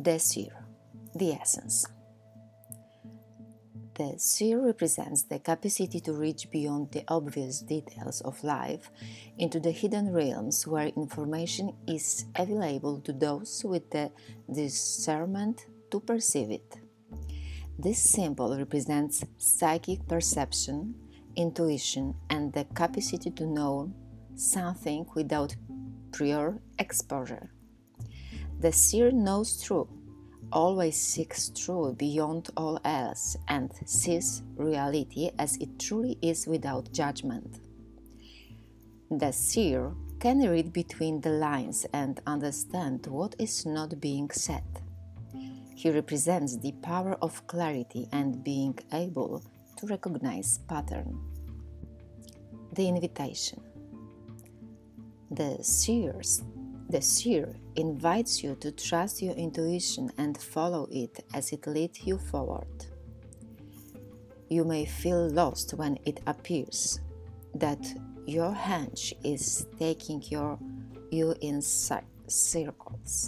The Seer, the essence. The seer represents the capacity to reach beyond the obvious details of life into the hidden realms where information is available to those with the discernment to perceive it. This symbol represents psychic perception, intuition, and the capacity to know something without prior exposure. The seer knows truth, always seeks truth beyond all else, and sees reality as it truly is without judgment. The seer can read between the lines and understand what is not being said. He represents the power of clarity and being able to recognize pattern. The invitation. The seer invites you to trust your intuition and follow it as it leads you forward. You may feel lost when it appears that your hunch is taking you in circles,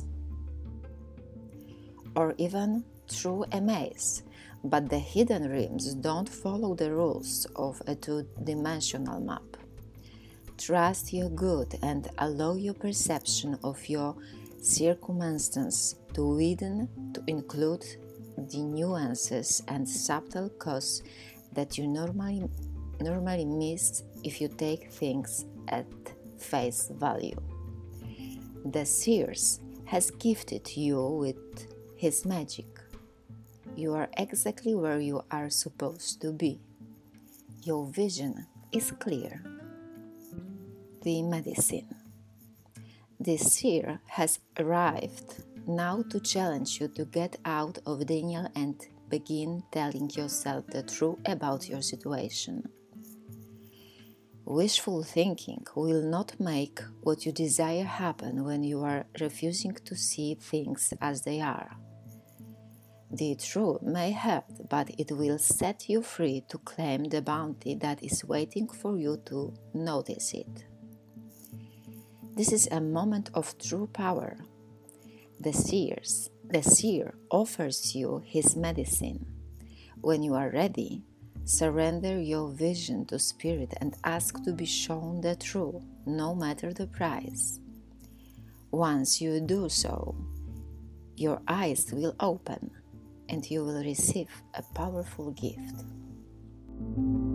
or even through a maze, but the hidden realms don't follow the rules of a two-dimensional map. Trust your gut and allow your perception of your circumstances to widen to include the nuances and subtle cues that you normally miss if you take things at face value. The seer has gifted you with his magic. You are exactly where you are supposed to be. Your vision is clear. The medicine. The seer has arrived now to challenge you to get out of denial and begin telling yourself the truth about your situation. Wishful thinking will not make what you desire happen when you are refusing to see things as they are. The truth may hurt, but it will set you free to claim the bounty that is waiting for you to notice it. This is a moment of true power. The seer offers you his medicine. When you are ready, surrender your vision to spirit and ask to be shown the truth, no matter the price. Once you do so, your eyes will open and you will receive a powerful gift.